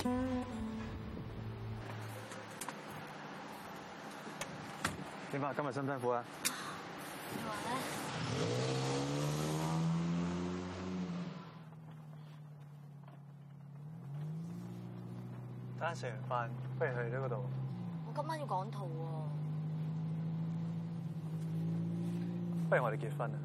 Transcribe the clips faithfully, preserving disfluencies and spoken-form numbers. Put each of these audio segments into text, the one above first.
點啊？今日辛唔辛苦啊？ 你話咧？ 等陣食完飯，不如去呢嗰度。 我今晚要趕圖喎。 不如我哋結婚啊！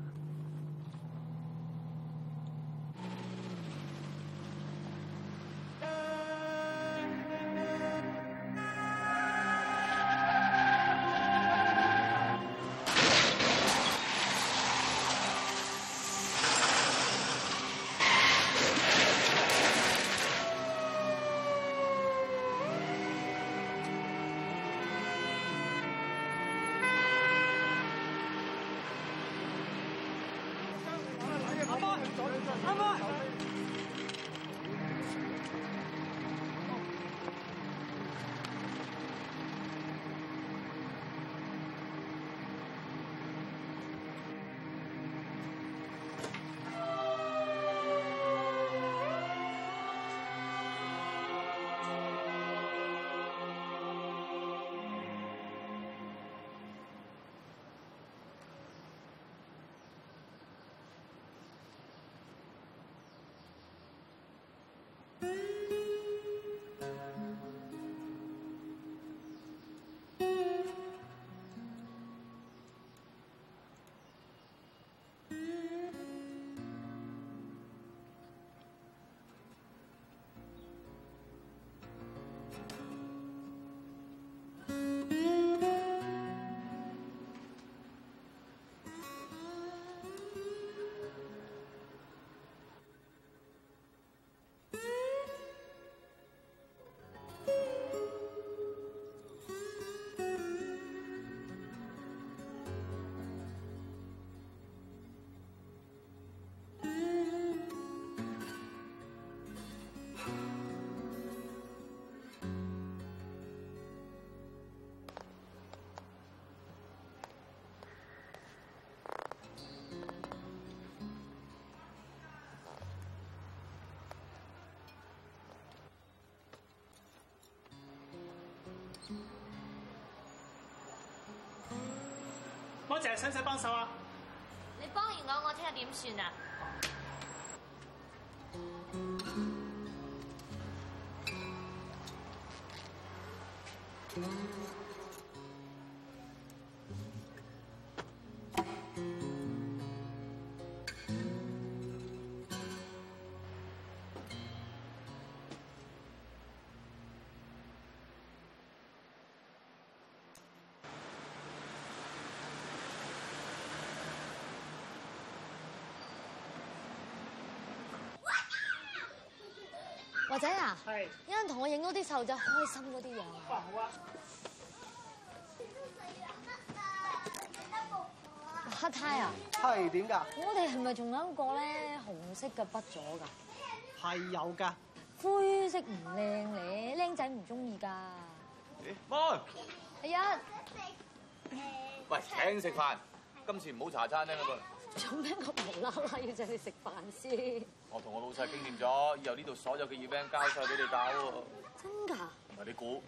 多謝，使唔使幫手啊？ 你幫完我，我聽日點算啊？華仔啊， 係， 有人同我影到啲細路仔開心嗰啲樣啊！ 哇，好啊！ 黑太啊， 係點㗎？ 我哋係咪仲有一個咧紅色嘅筆咗㗎？ 係有㗎。 灰色唔靚咧，僆仔唔中意㗎。 媽， 係啊。 喂，請食飯，今次唔好茶餐廳嗰度。 做咩咁無啦啦要請你食飯先？ 我同我老細傾掂咗，以後呢度所有嘅 event 交晒俾你搞喎。 真㗎？ 唔係你估？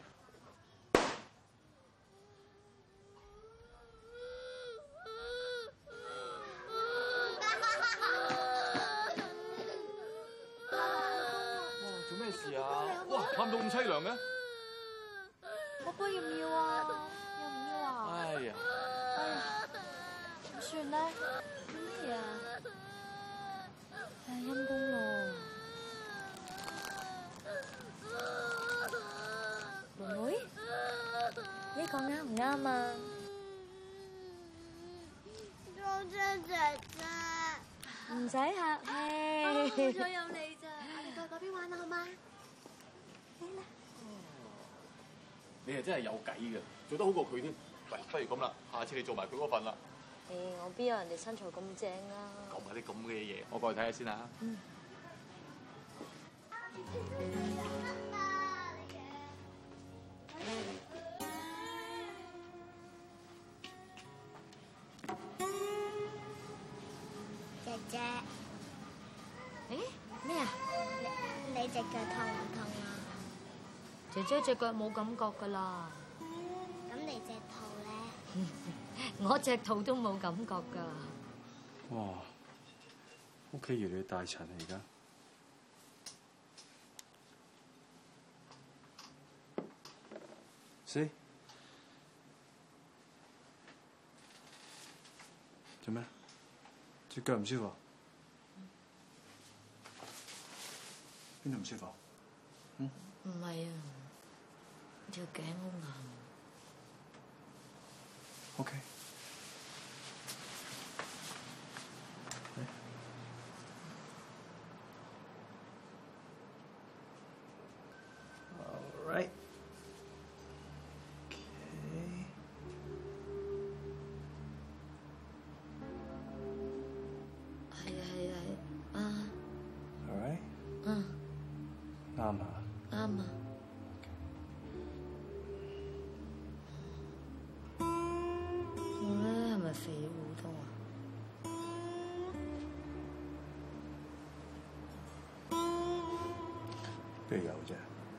哇！做咩事啊？哇！喊到咁凄涼嘅？ 寶寶要唔要啊？要唔要啊？ 哎呀！ 哎呀，點算咧？咩啊？唉，陰公咯。妹妹，呢個啱唔啱啊？ 多謝姐姐。 唔使客氣。 好彩有你咋，我哋過嗰邊玩啦，好嗎？嚟啦。 你係真係有計嘅，做得好過佢添。喂，不如咁啦，下次你做埋佢嗰份啦。 誒，我邊有人哋身材咁正啊？ 講埋啲咁嘅嘢，我過去睇下先啦。 嗯。 姐姐， 誒咩啊？ 你你隻腳痛唔痛啊？ 姐姐隻腳冇感覺㗎啦。 咁你隻兔咧？ 我隻兔都冇感覺㗎。 哇！屋企越嚟越大塵啊！而家。死！做咩？隻腳唔舒服？邊度唔舒服？嗯？ 唔係啊，條頸好硬。 OK。All right。啱啊！ 啱啊！我咧係咪肥咗好多啊？ 邊有啫？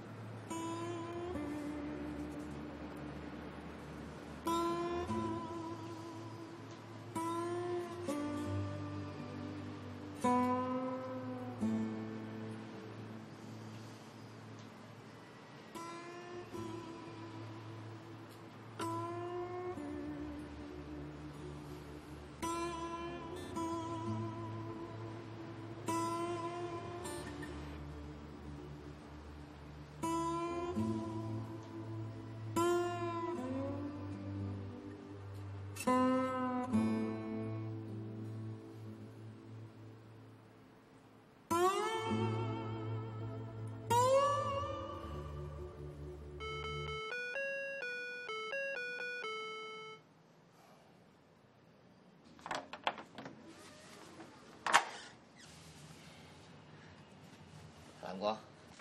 南哥，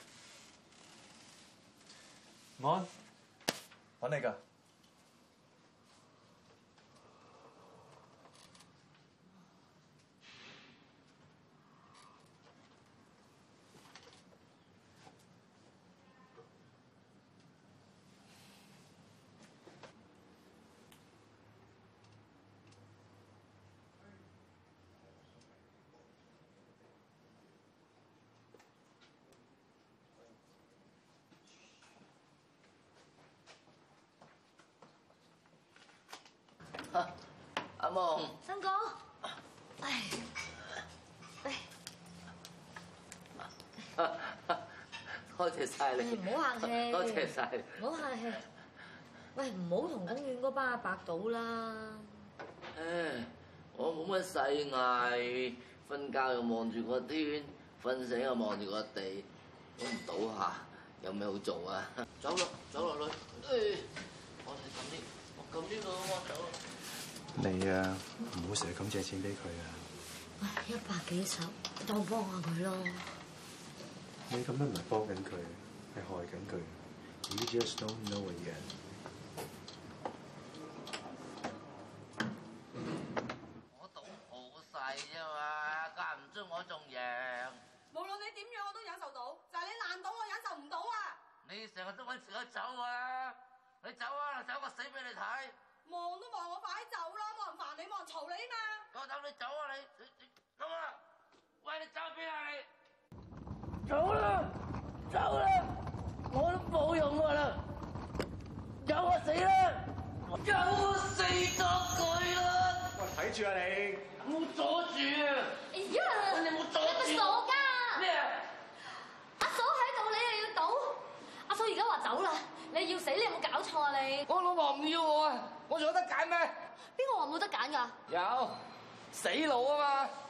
安，揾你㗎。 阿夢， 新哥，唉， 多謝晒你， 唔好客氣， 多謝晒你， 唔好客氣。喂，唔好同公園嗰班阿伯賭啦。 唉，我冇乜細藝，瞓覺又望住個天，瞓醒又望住個地，都唔賭下，有咩好做啊？走啦，走落去。誒，我哋撳啲，我撳呢度啊，走啦。 你啊，唔好成日咁借錢俾佢啊！ 唉，一百幾十，當幫下佢咯。 你咁樣唔係幫緊佢，係害緊佢。You just don't know it yet。 我賭好細啫嘛，間唔中我仲贏。 無論你點樣我都忍受到，就係你爛賭我忍受唔到啊！ 你成日都揾時間走啊！你走啊，走個死俾你睇！ 望都望我快啲走啦，冇人煩你，冇人嘈你嘛！ 夠膽你走啊你！你你走啊！喂，你走邊啊你？走啦！走啦！我都冇用㗎啦！走啊死啦！走啊死咗佢啦！ 喂，睇住啊你！ 唔好阻住啊！ 哎呀！ 你冇阻住！ 你個傻家！ 咩啊？ 阿嫂喺度，你又要賭？阿嫂而家話走啦，你要死，你有冇搞錯啊你？ 我老婆唔要我啊！我仲有得揀咩？ 邊個話冇得揀㗎？ 有，死佬啊嘛！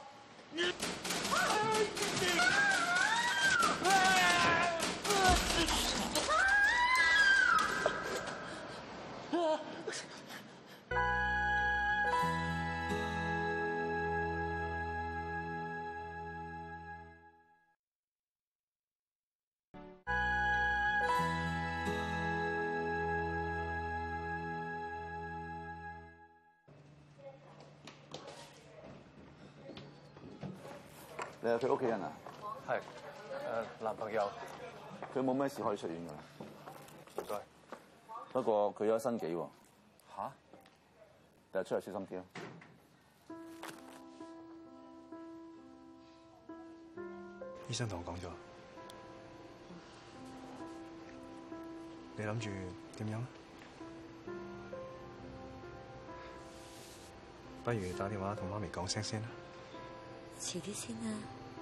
你係佢屋企人啊？ 係，誒男朋友。 佢冇咩事可以出院㗎啦。 唔該。不過佢有新紀喎。嚇？第日出嚟小心啲啦。 醫生同我講咗，你諗住點樣？不如打電話同媽咪講聲先啦。 遲啲先啊。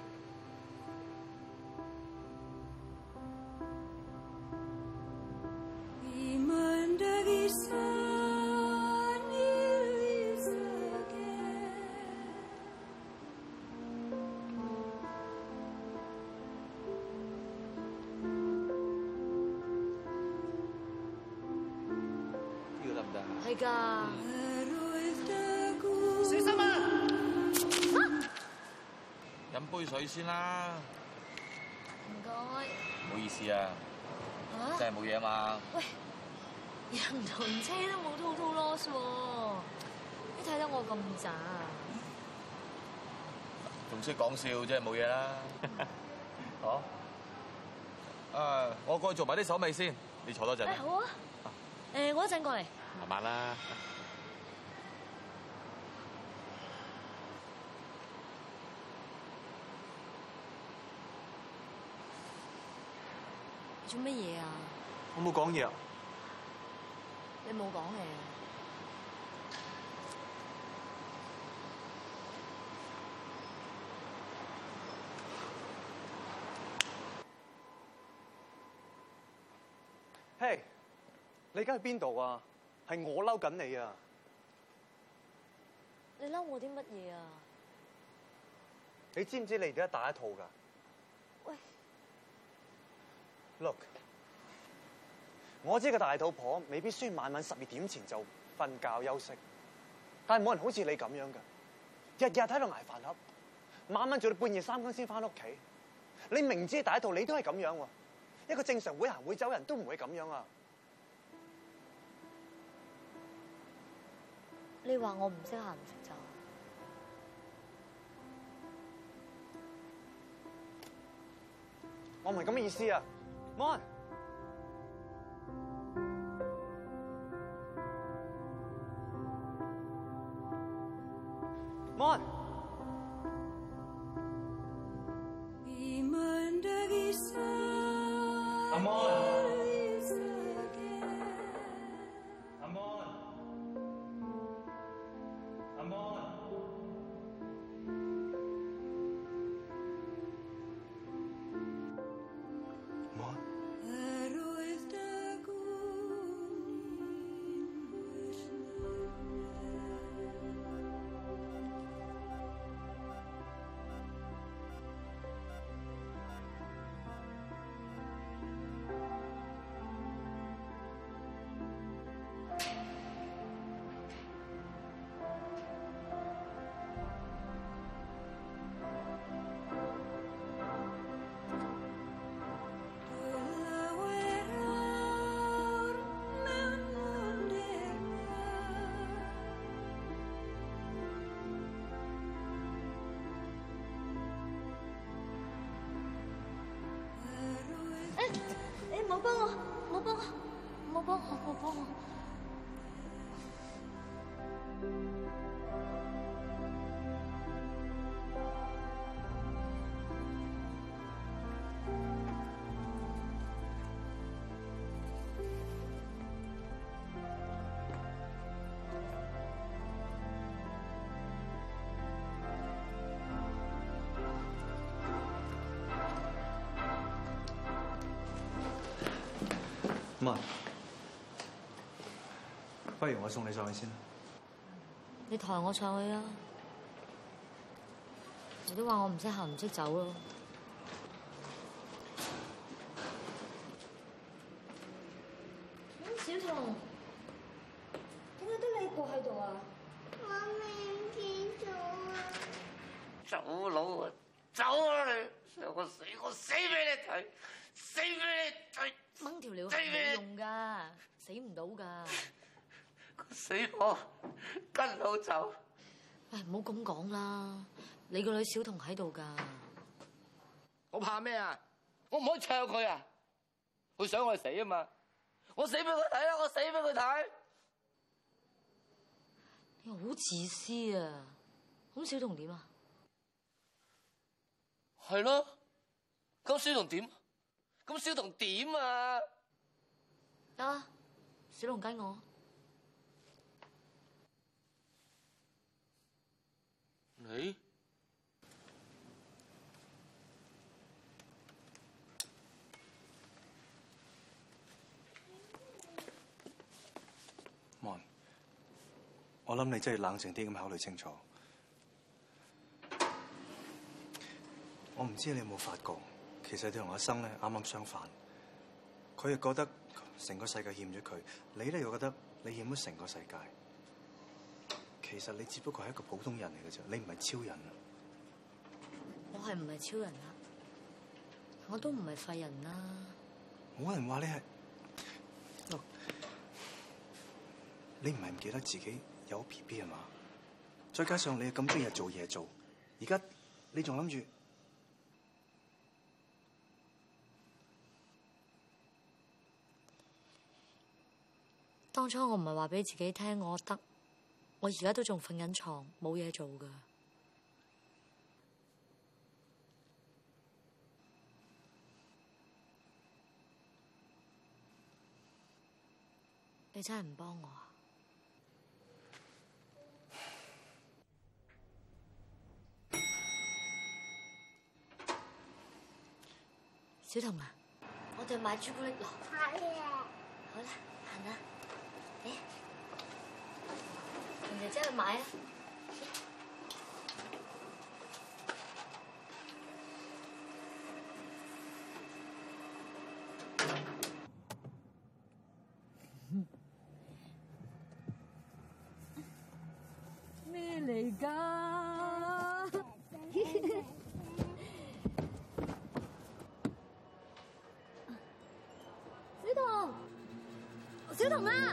呢個得唔得啊？ 係㗎。 小心啊！ 飲杯水先啦。 唔該。 唔好意思啊， 啊？ 真係冇嘢啊嘛。 喂，人同車都冇 total loss 喎，你睇得我咁渣啊？ 仲識講笑，真係冇嘢啦。好。誒，我過去做埋啲手尾先，你坐多陣。 誒好啊。誒，我一陣過嚟。 慢慢啦。 做乜嘢啊？ 我冇講嘢啊。 你冇講嘢。 嘿， hey, 你而家去邊度啊？係我嬲緊你啊！ 你嬲我啲乜嘢啊？ 你知唔知你而家打一套㗎？ 喂 ，Look， 我知個大肚婆未必需要晚晚十二點前就瞓覺休息，但係冇人好似你咁樣㗎，日日喺度捱飯盒，晚晚做到半夜三更先翻屋企。你明知大肚，你都係咁樣喎。一個正常會行會走人都唔會咁樣啊！ 你話我唔識行唔識走？ 我唔係咁嘅意思啊 ，Mon。Mon。阿 Mon。阿 Mon。阿 Mon。 誒，唔好幫我，唔好幫我，唔好幫我，唔好幫我。 媽，不如我送你上去先啦。 你抬我上去啊！你都話我唔識行唔識走咯。小彤，點解得你一個喺度啊？ 媽咪唔見咗啊！ 走佬啊！走啊你！我死我死俾你睇，死俾你睇！ 掹條料係冇用㗎，死唔到㗎。 死我，跟佬走。 喂，唔好咁講啦，你個女小彤喺度㗎。 我怕咩啊？我唔可以唱佢啊！佢想我死啊嘛！ 我死俾佢睇啊！我死俾佢睇。 你好自私啊！咁小童點啊？ 係咯，咁小童點？咁小童點啊？ 得啦，小童跟我。 你？ 望，我諗你真係冷靜啲咁考慮清楚。我唔知你有冇發覺，其實你同阿生咧啱啱相反。佢又覺得成個世界欠咗佢，你咧又覺得你欠咗成個世界。其實你只不過係一個普通人嚟嘅啫，你唔係超人啊！ 我係唔係超人啊？我都唔係廢人啦。 冇人話你係。你唔係唔記得自己有 B B 係嘛？再加上你咁多日做嘢做，而家你仲諗住？ 當初我唔係話俾自己聽我得，我而家都仲瞓緊床，冇嘢做㗎。你真係唔幫我啊？小童啊，我哋買朱古力咯。係啊。好啦，行啦。嚟，同姐姐去買啊。咩嚟㗎？小童，小童啊！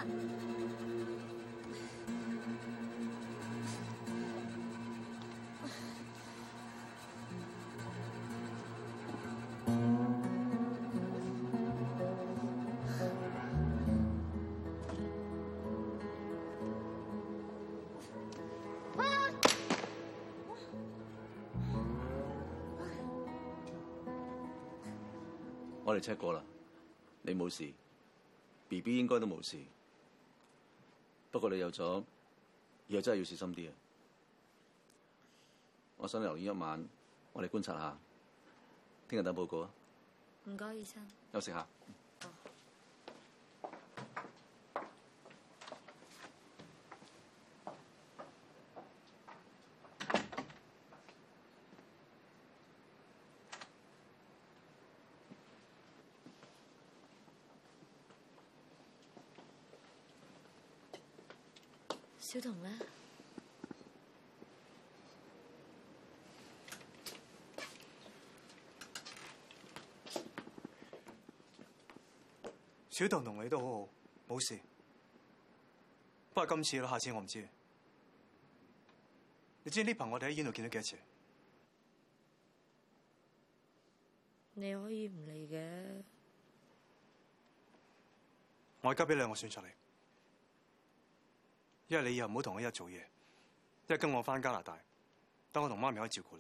我哋 check 過啦，你冇事 ，B B 應該都冇事。不過你有咗，以後真係要小心啲啊！我想留院一晚，我哋觀察下，聽日等報告啊。 唔該，醫生。 休息下。 小童呢？ 小童同你都好好，冇事。不過今次咯，下次我唔知。你知呢排我哋喺醫院度見到幾多次？ 你可以唔嚟嘅。 我而家俾兩個選擇你。一係你以後唔好同我一齊做嘢，一係跟我返加拿大，等我同媽咪可以照顧你。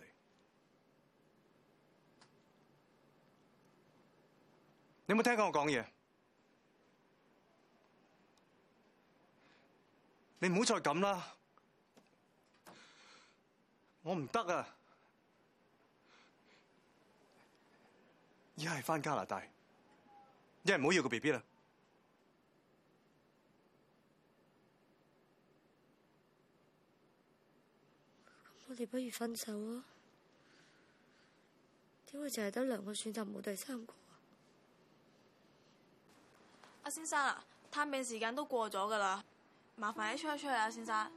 你有冇聽過我講嘢？你唔好再咁啦，我唔得啊！一係返加拿大，一係唔好要個 B B 啦。 我哋不如分手啊！點會淨係得兩個選擇，冇第三個啊？ 阿先生啊，探病時間都過咗㗎啦，麻煩你出一出去啊，先生。